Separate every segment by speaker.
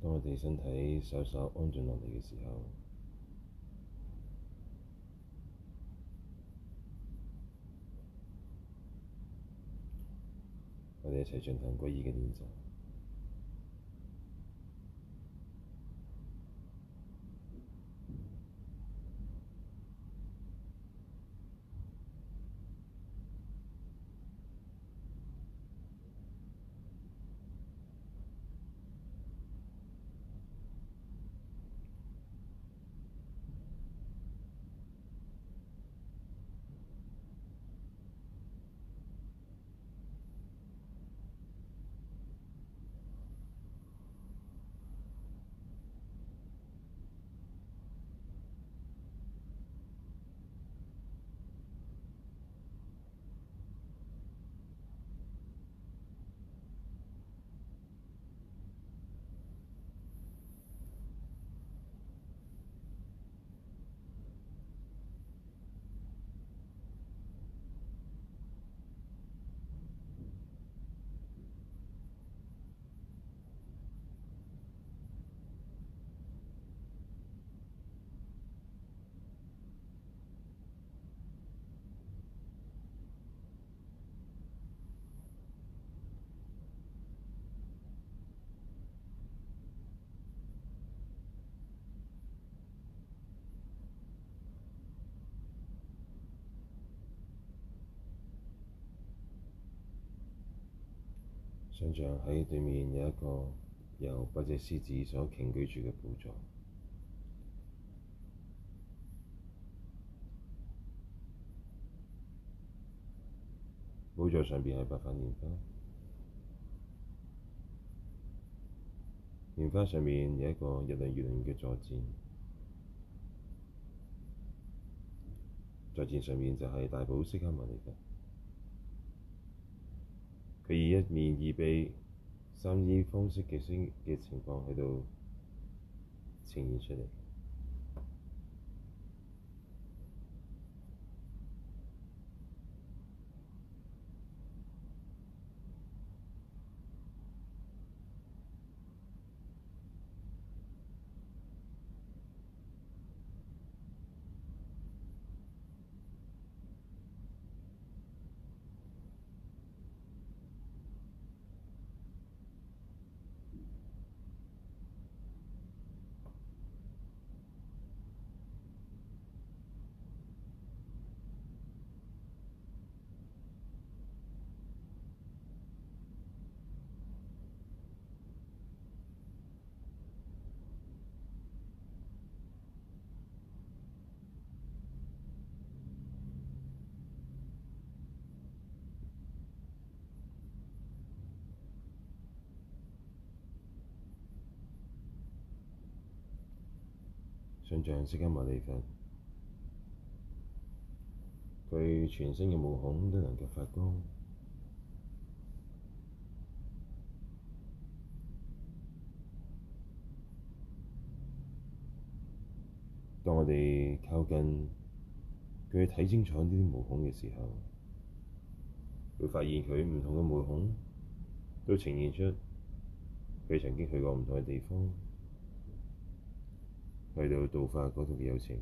Speaker 1: 當我哋身體稍稍安靜落嚟嘅時候，我哋一齊進行歸依嘅練習。想像喺對面有一個由8隻獅子所擎舉住嘅寶座，寶座上邊係白瓣蓮花，蓮花上面有一個日輪月輪嘅坐墊，坐墊上面就係大寶釋迦牟尼佛。佢以一面二臂三衣方式嘅情況喺度呈現出嚟。想像釋迦牟尼佛，佢全身嘅毛孔都能夠發光。當我哋靠近佢睇清楚呢啲毛孔嘅時候，會發現佢唔同嘅毛孔都呈現出佢曾經去過唔同嘅地方，去到度化嗰度嘅有情。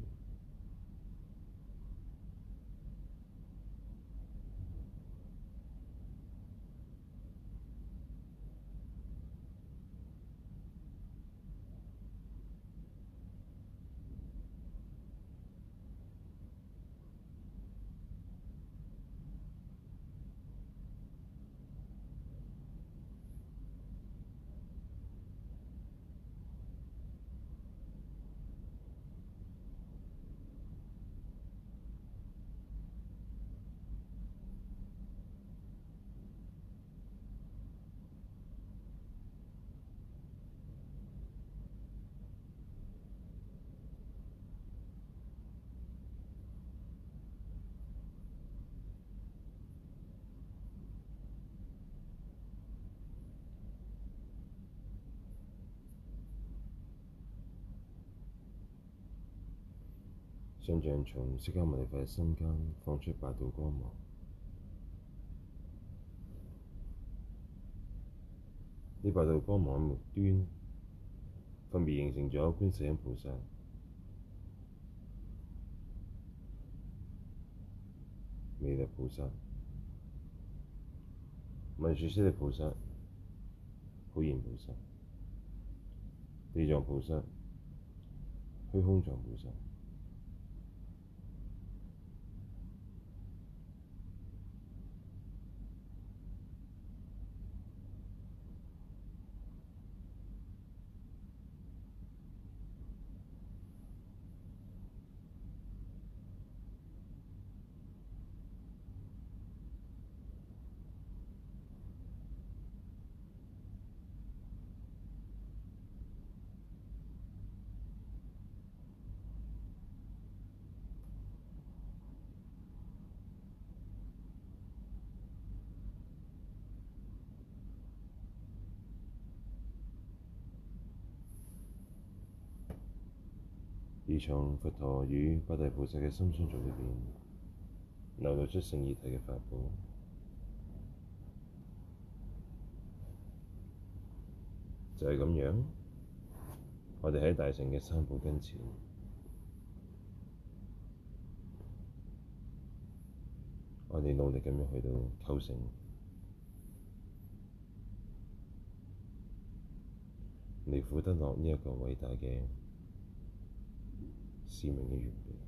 Speaker 1: 想像從釋迦牟尼佛嘅心間放出8道光芒，呢8道光芒嘅末端分別形成咗觀世音菩薩、彌勒菩薩、文殊師利菩薩、普賢菩薩、地藏菩薩、虛空藏菩薩。而從佛陀與八大菩薩嘅心相續裏邊，流露出聖義體嘅法寶，就係咁樣。我哋喺大乘嘅三寶跟前，我哋努力咁樣去到構成，離苦得樂呢一個偉大嘅使命嘅完備。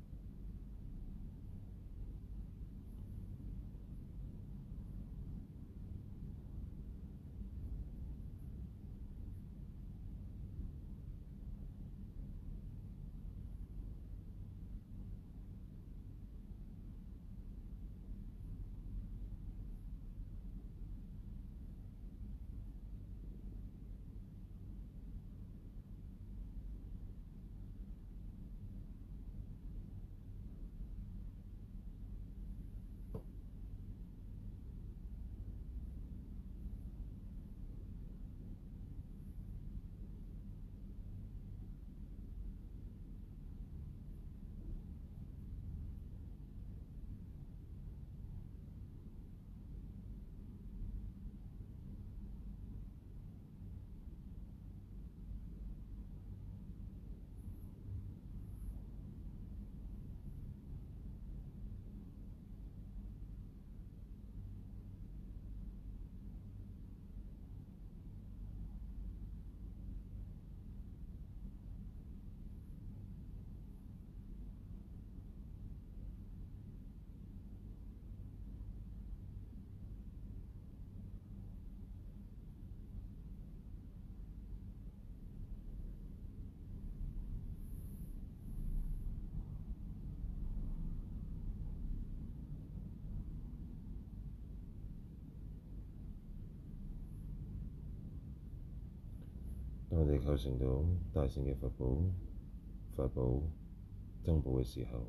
Speaker 1: 當我哋構成到大乘嘅佛寶、法寶、僧寶嘅時候，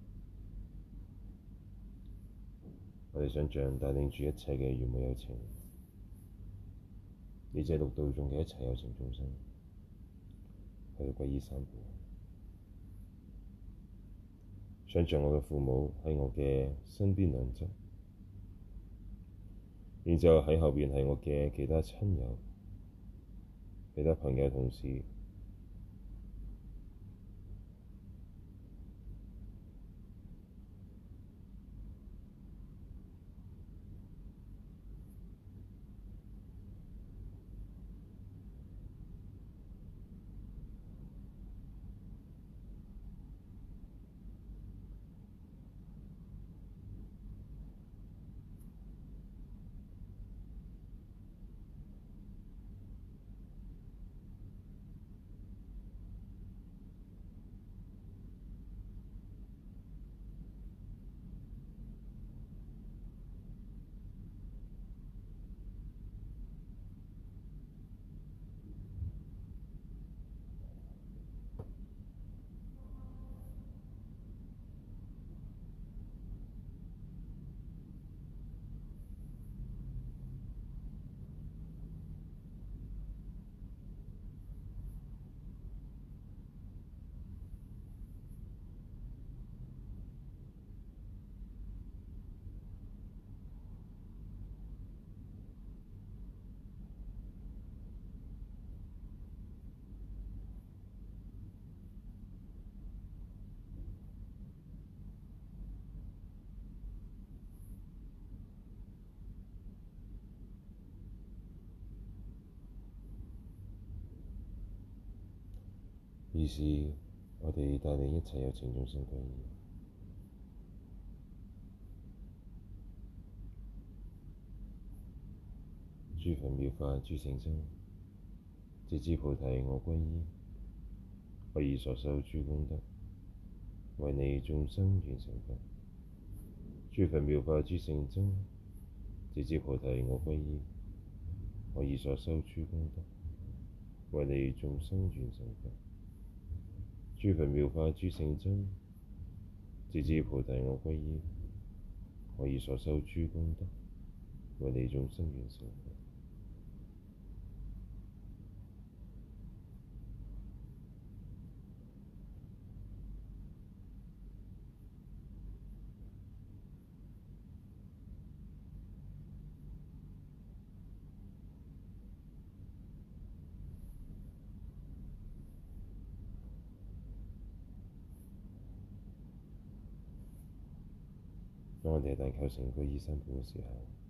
Speaker 1: 我哋想像帶領住一切嘅圓滿有情，以至六道中嘅一切有情眾生，去到皈依三寶。想像我嘅父母喺我嘅身邊兩側，然之後喺後邊係我嘅其他親友、其他朋友、同事。 於是，我哋帶領一切有情眾生歸依，諸佛妙法諸聖僧，直至菩提我歸依，我以所修諸功德，為利眾生願成佛。諸佛妙法諸聖僧，直至菩提我歸依，我以所修諸功德，為利眾生願成佛。諸佛妙法諸聖僧，直至菩提我歸依，我以所修諸功德，為利眾生願成佛。當我哋一旦構成皈依三寶嘅時候，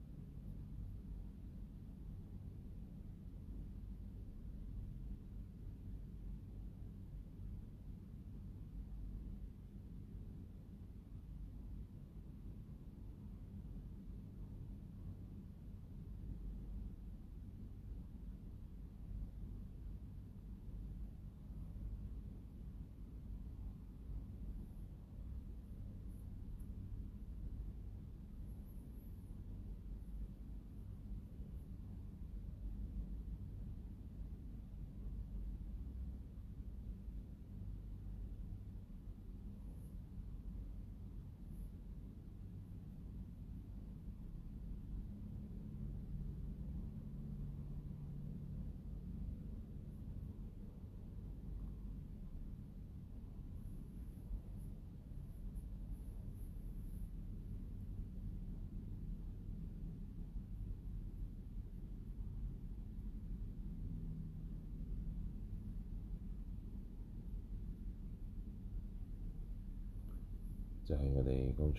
Speaker 1: 就係我哋剛才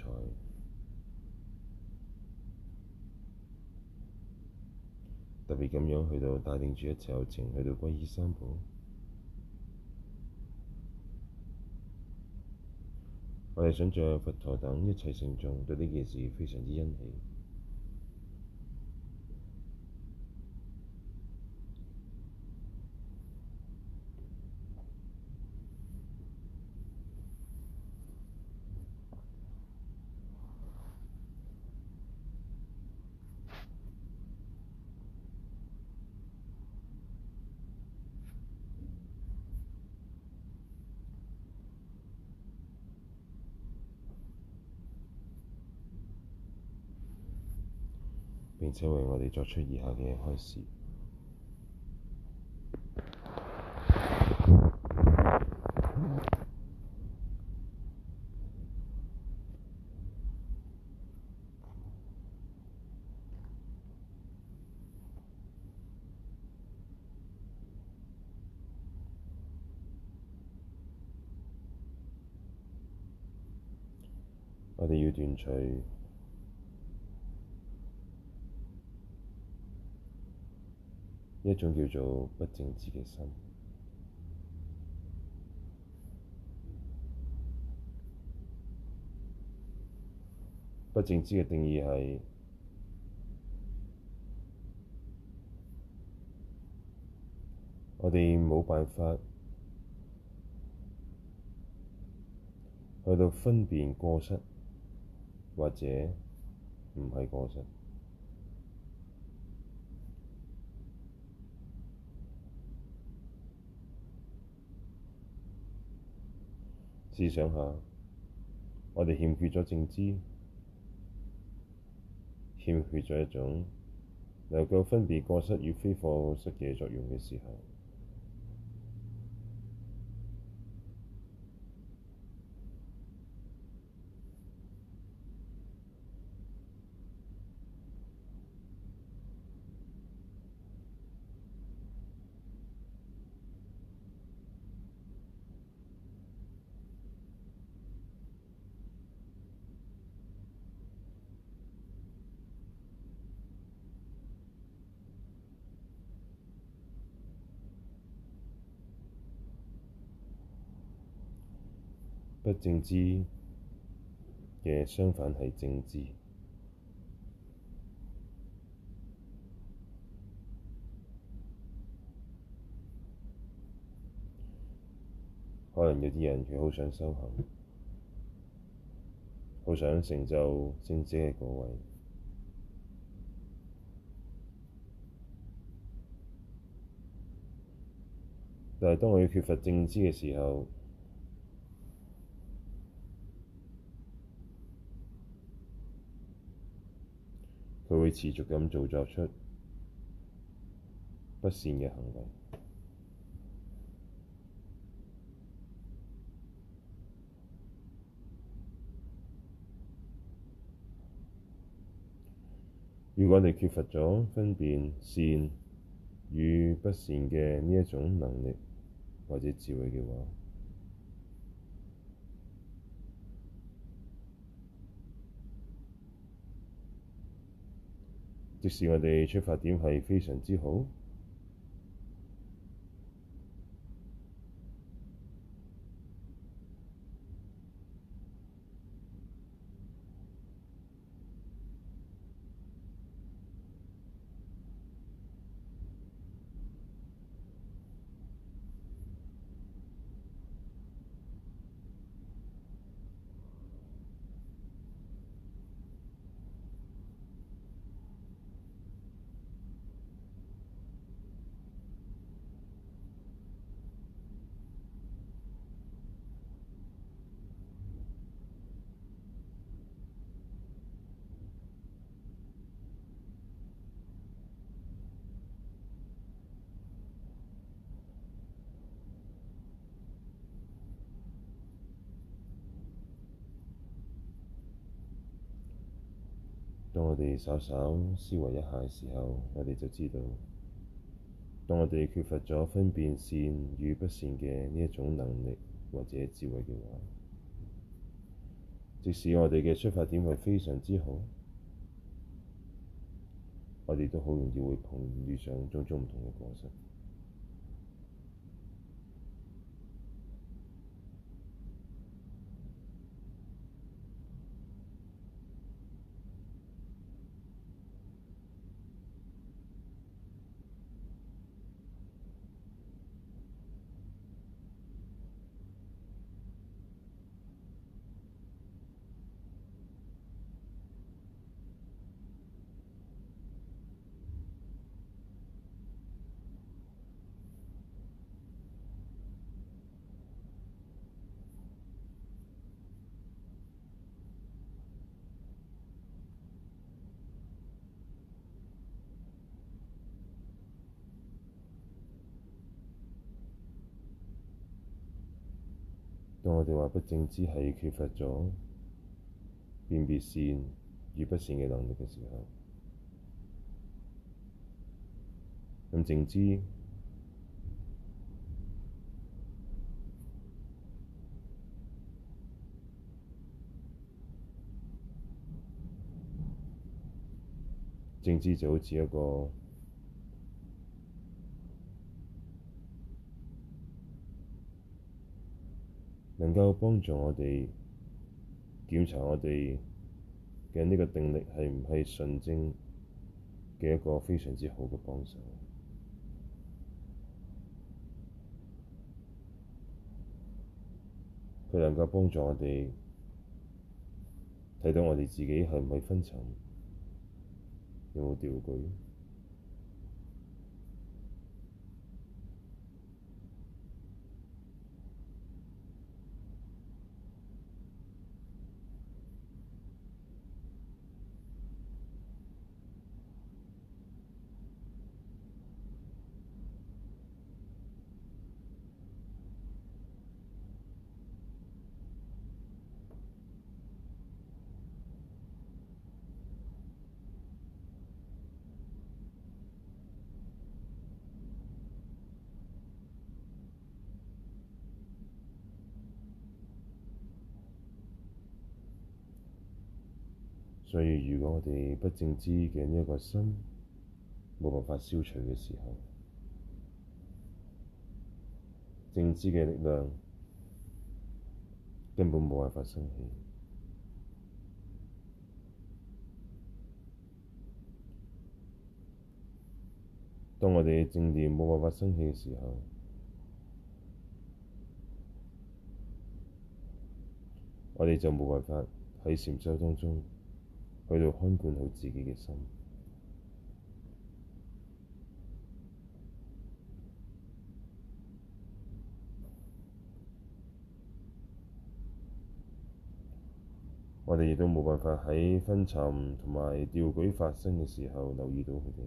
Speaker 1: 特別咁樣去到帶領住一切有情去到皈依三寶，我哋想像佛陀等一切聖眾對呢件事非常之欣喜。並且為我哋作出以下嘅開示。我哋要斷除一種叫做不淨知嘅心。不淨知嘅定義係我哋冇辦法去到分辨過失或者唔係過失。試想下，我哋欠缺咗正知，欠缺咗一種能夠分別過失與非過失嘅作用嘅時候， 不正知嘅相反係正知。可能有啲人佢好想修行，好想成就聖者嘅果位，但係當佢缺乏正知嘅時候，佢會持續咁作出不善嘅行為。如果你缺乏咗分辨善與不善嘅呢一種能力或者智慧嘅話，即使我哋出發點係非常之好，當我哋稍稍思維一下嘅時候，我哋就知道，當我哋缺乏咗分辨善與不善嘅呢一種能力或者智慧嘅話，即使我哋嘅出發點係非常之好，我哋都好容易會遇上種種唔同嘅過失。當我哋話不正知係缺乏咗辨別善與不善嘅能力嘅時候，咁正知就好似一個能夠幫助我哋檢查我哋嘅呢個定力係唔係純正嘅一個非常之好嘅幫手。佢能夠幫助我哋睇到我哋自己係唔係昏沉，有冇掉舉。所以，如果我哋不正知嘅呢一個心冇辦法消除嘅時候，正知嘅力量根本冇辦法生起。當我哋嘅正念冇辦法生起嘅時候，我哋就冇辦法喺禪修當中去到看管好自己嘅心。我哋亦都冇辦法喺昏沉同埋掉舉發生嘅時候留意到佢哋。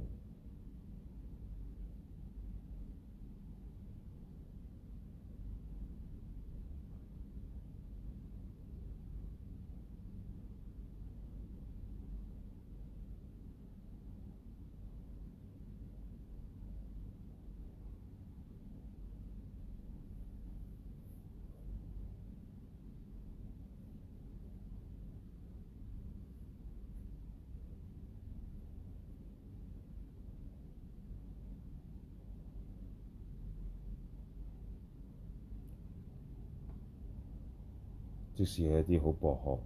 Speaker 1: 即使係一啲好博學，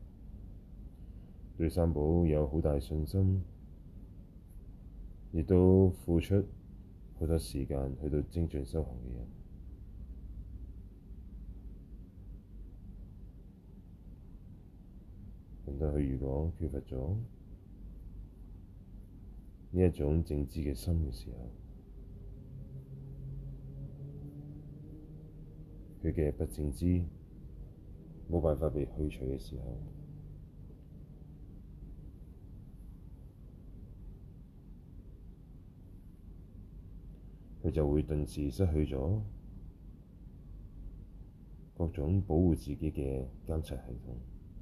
Speaker 1: 對三寶有好大信心，亦都付出好多時間去到精進修行嘅人，但係佢如果缺乏咗呢一種正知嘅心嘅時候，佢嘅不正知冇辦法被去除嘅時候，佢就會頓時失去咗各種保護自己嘅監察系統，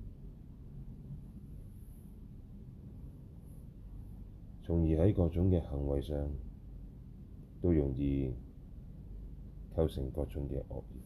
Speaker 1: 從而喺各種嘅行為上都容易構成各種嘅惡業。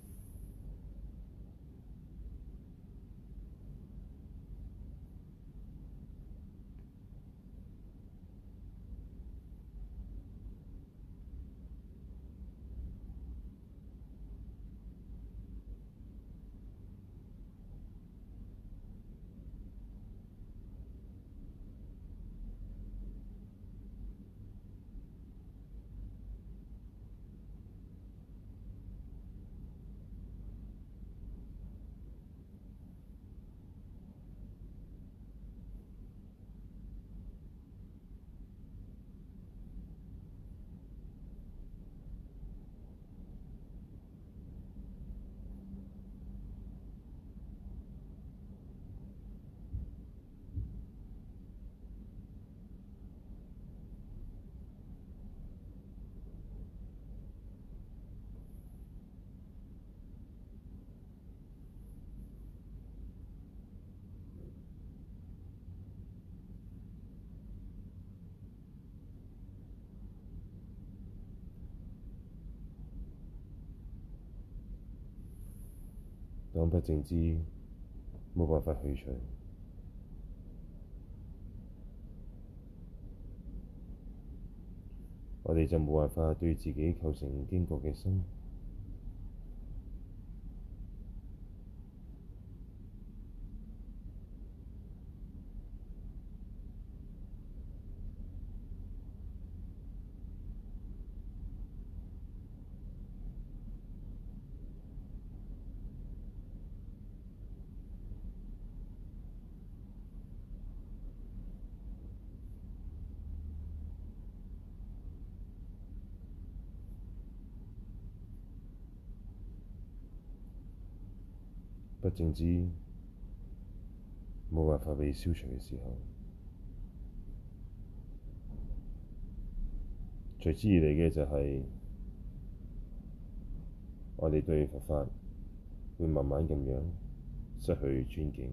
Speaker 1: 當不正知冇辦法去除，我哋就冇辦法對自己構成驚覺嘅心。不正知冇辦法被消除嘅時候，隨之而嚟嘅就係我哋對佛法會慢慢咁樣失去尊敬，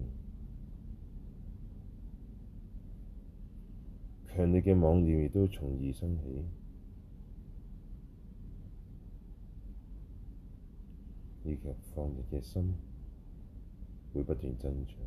Speaker 1: 強烈嘅妄念亦都從而生起，以及放逸嘅心會不斷增長。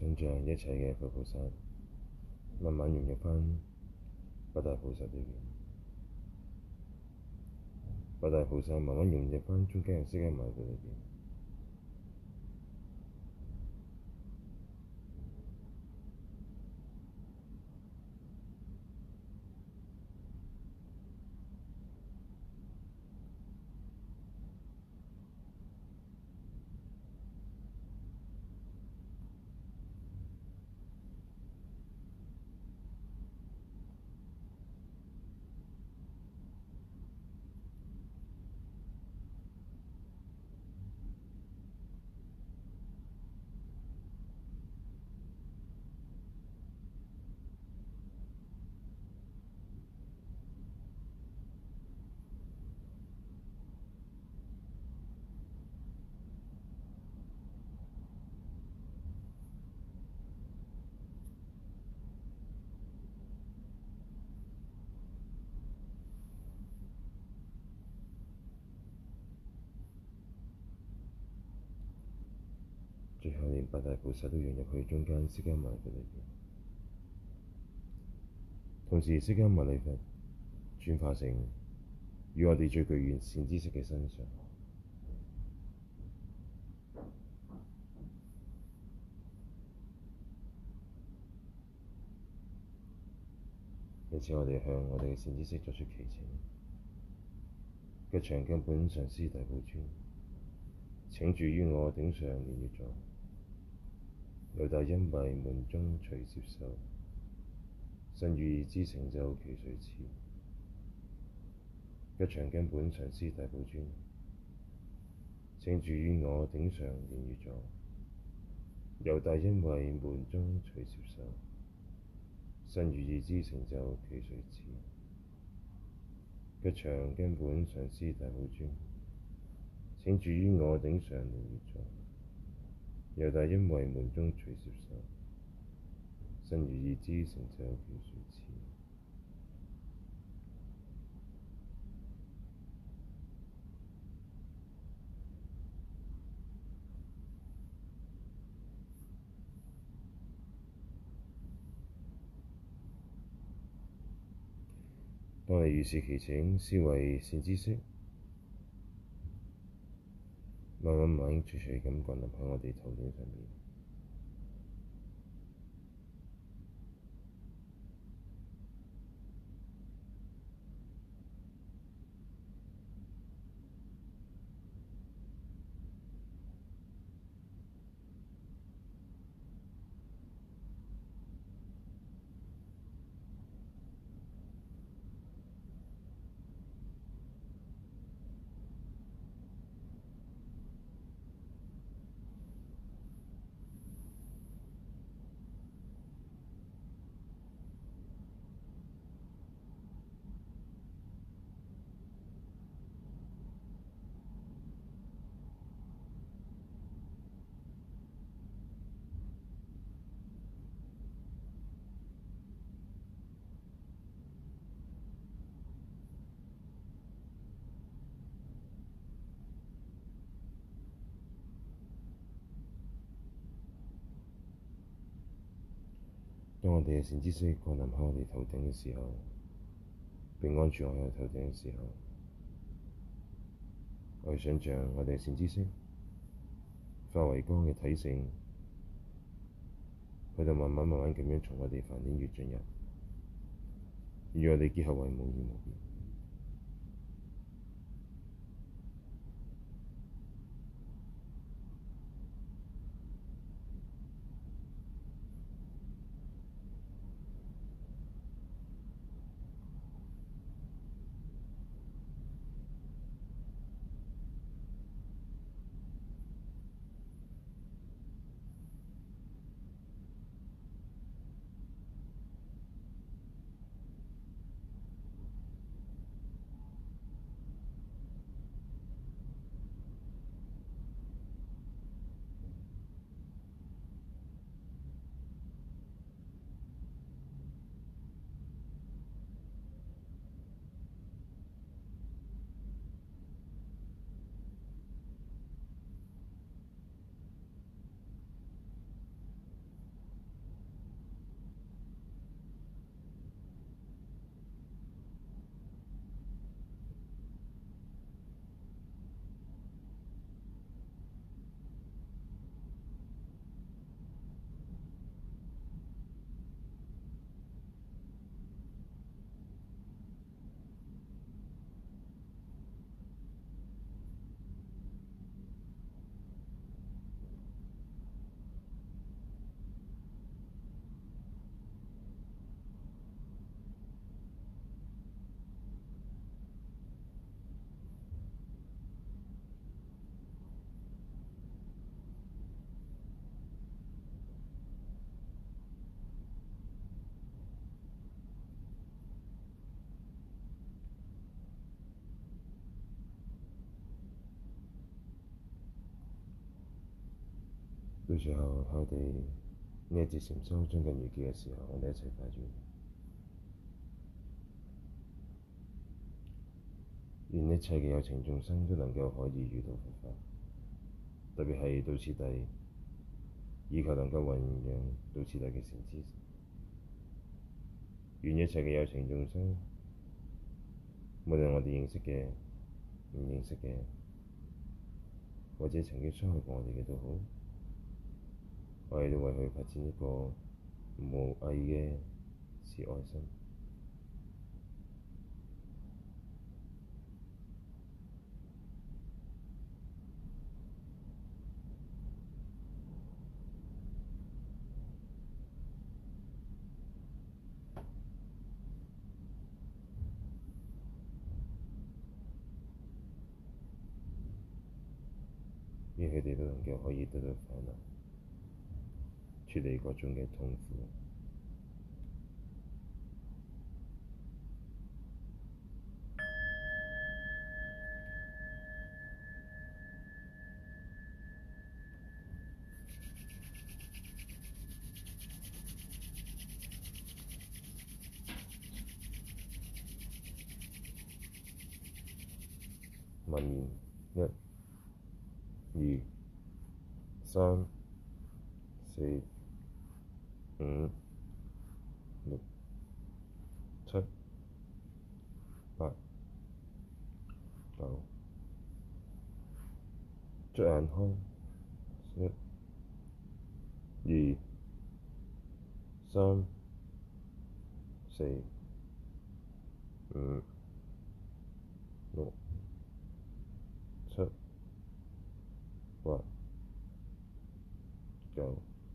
Speaker 1: 想像一切嘅佛菩薩慢慢融入返八大菩薩裏邊，八大菩薩慢慢融入返中間嘅釋迦牟尼佛裏邊。最後連八大菩薩都融入去中間釋迦牟尼佛裏邊，同時釋迦牟尼佛轉化成與我哋最具完善知識嘅身上，因此我哋向我哋嘅善知識作出祈請。吉祥根本上師大寶尊，請住於我頂上蓮月座，由大恩惠門中隨接受，身語意之成就其隨次。吉祥根本上師大寶尊，請住於我頂上蓮月座，由大恩惠門中隨接受，身語意之成就其隨次。吉祥根本上師大寶尊，請住於我頂上蓮月座，由大恩惠門中隨接受，身語意之成就其隨次。當你如是祈請，思維善知識，慢慢徐徐咁降臨喺我哋頭頂上面。當我哋嘅善知識降臨喺我哋頭頂嘅時候，並安住我哋頭頂嘅時候，我哋想像我哋嘅善知識化為光嘅體性，佢就慢慢咁樣從我哋梵天穴進入，與我哋結合為無二無別。 到時候喺我哋呢一節禪修將近完結嘅時候，我哋一齊發願，願一切嘅有情眾生都能夠可以遇到佛法，特別係道次第，以求能夠弘揚道次第嘅善知識。願一切嘅有情眾生，無論我哋認識嘅、唔認識嘅，或者曾經傷害過我哋嘅都好，我哋都為佢發展一個無偽嘅慈愛心。願佢哋都能夠可以得到快樂，處理各種嘅痛苦。默念1、2、3、4、5、6、7、8、9，捽眼康1、2、3、4、5、6、7、8、9，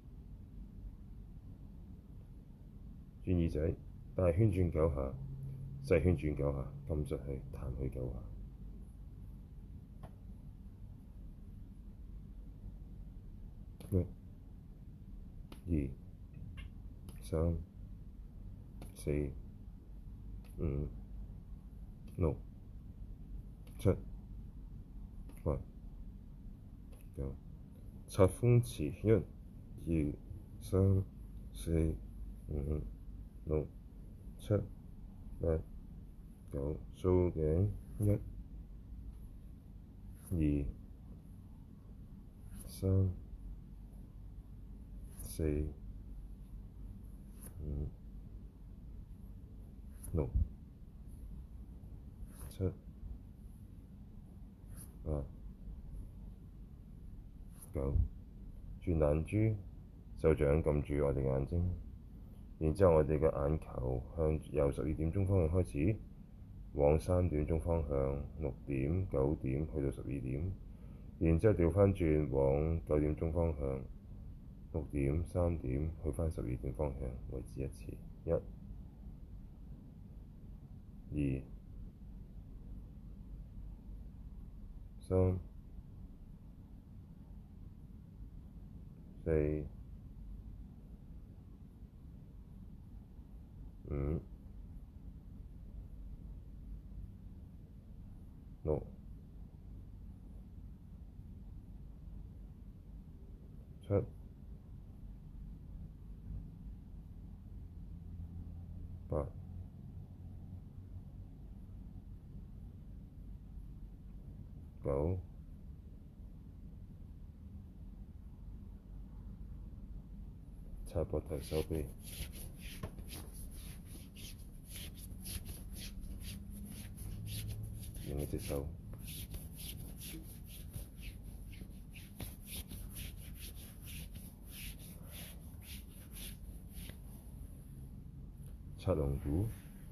Speaker 1: 轉耳仔，大圈轉9下，細圈轉9下，撳實去，彈去9下。1、2、3、4、5、6、7、8、9，擦風池1、2、3、4、5、6、7、8、9，掃頸1、2、3、4、5、6、7、8、9，轉眼珠，手掌撳住我哋嘅眼睛，然之後我哋嘅眼球向由12點鐘方向開始，往3點鐘方向、6點、9點去到12點，然之後調返轉往9點鐘方向、6點、3點去返12點方向為止一次。1、2、3、4、5、6、7、8、9，擦膊頭手臂，另一隻手，擦龍骨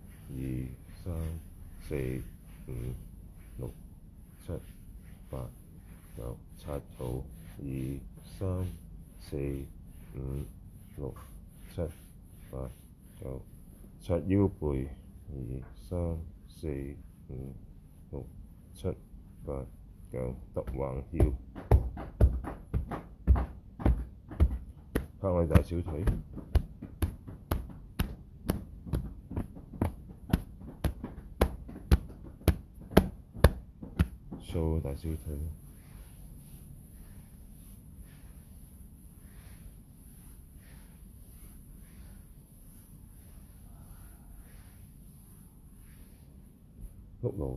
Speaker 1: ，2、3、4、5、6、7、8、9，擦肚，2、3、4、5、6、7、8、9，擦腰背，2、3、4、5、6、7、8、9，揼橫腰，拍我大小腿，掃大小腿， 碌路，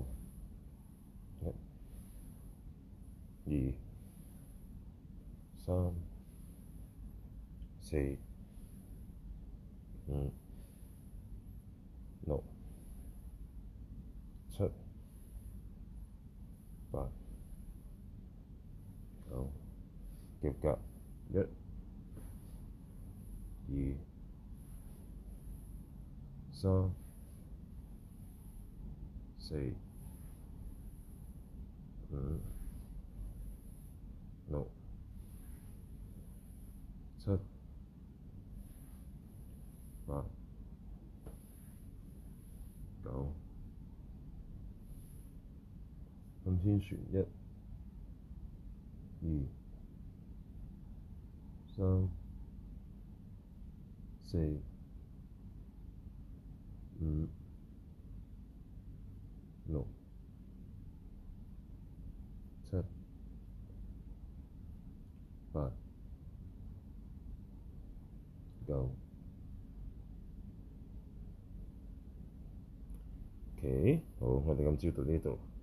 Speaker 1: 一、二、三、四、五、六、七、八、九，夾夾，一、二、三、四、五、六、七、八、九，向天旋，一、二、三、四、五、六、七、八、九。OK，好，我哋今朝到呢度。